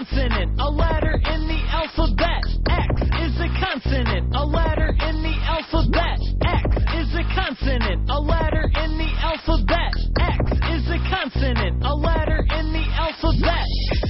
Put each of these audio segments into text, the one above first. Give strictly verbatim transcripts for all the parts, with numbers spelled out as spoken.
consonant, a letter in the alphabet. X is a consonant, a letter in the alphabet. X is a consonant, a letter in the alphabet. X is a consonant, a letter in the alphabet.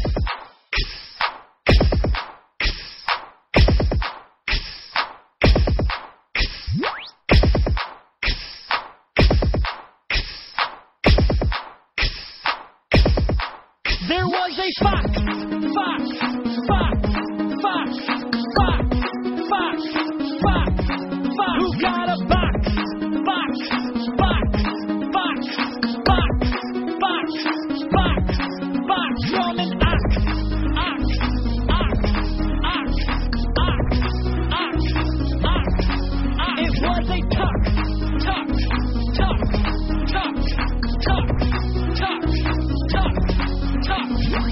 There was a fox, fox, fox, fox, fox, fox, fox, fox, who got a box, box, box, box, box, box, box, box, from an ox, ox, ox, ox, ox, ox, ox, ox. It was a tuck, tuck, tuck, tuck, tuck, tuck, tuck, tuck.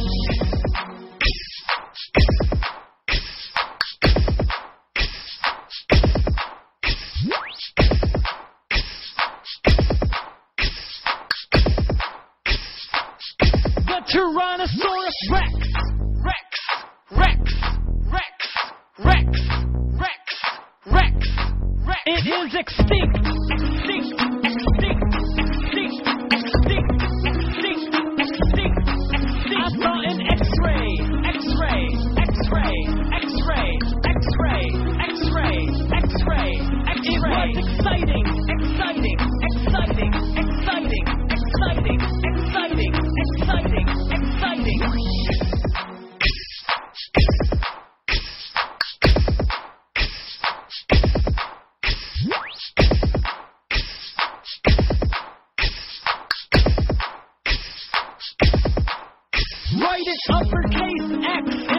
The Tyrannosaurus Rex, Rex, Rex, Rex, Rex, Rex, Rex, Rex. It is extinct, extinct, extinct, extinct, extinct, extinct, extinct, extinct. I saw an X-ray, X-ray, X-ray, X-ray, X-ray, X-ray, X-ray, X-ray. It was exciting, exciting, exciting, exciting, exciting, exciting, exciting, exciting. Write it uppercase X.